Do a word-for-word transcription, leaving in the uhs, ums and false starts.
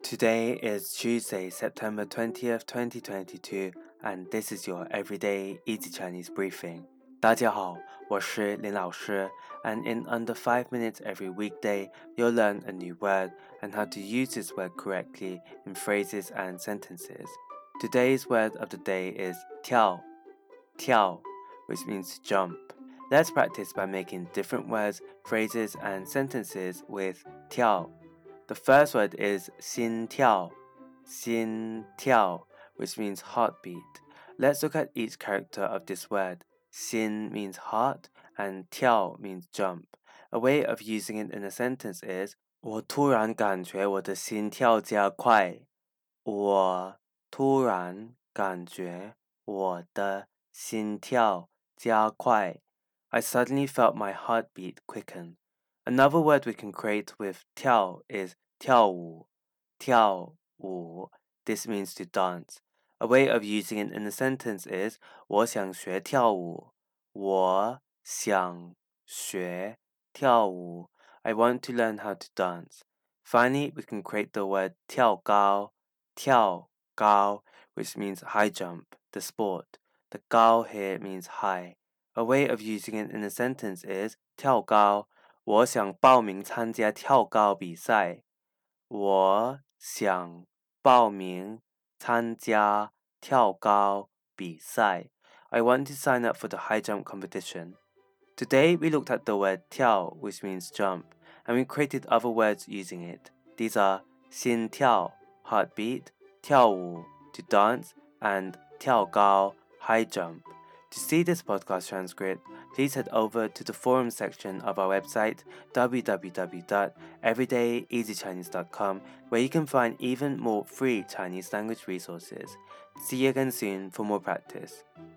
Today is Tuesday, September twentieth, twenty twenty-two, and this is your everyday easy Chinese briefing. 大家好，我是林老师, and in under five minutes every weekday, you'll learn a new word and how to use this word correctly in phrases and sentences. Today's word of the day is 跳, 跳, which means to jump. Let's practice by making different words, phrases, and sentences with 跳. The first word is 心跳, 心跳, which means heartbeat. Let's look at each character of this word. 心 means heart and 跳 means jump. A way of using it in a sentence is 我突然感觉我的心跳加快。我突然感觉我的心跳加快。I suddenly felt my heartbeat quicken. Another word we can create with 跳 is 跳舞, 跳舞. This means to dance. A way of using it in a sentence is 我想学跳舞。我想学跳舞。I want to learn how to dance. Finally, we can create the word 跳高, 跳高, which means high jump, the sport. The 高 here means high. A way of using it in a sentence is 跳高。我想报名参加跳高比赛。我想报名参加跳高比赛。I want to sign up for the high jump competition. Today we looked at the word 跳, which means jump, and we created other words using it. These are 心跳, heartbeat, 跳舞, to dance, and 跳高, high jump. To see this podcast transcript, please head over to the forum section of our website w w w dot everyday easy chinese dot com, where you can find even more free Chinese language resources. See you again soon for more practice.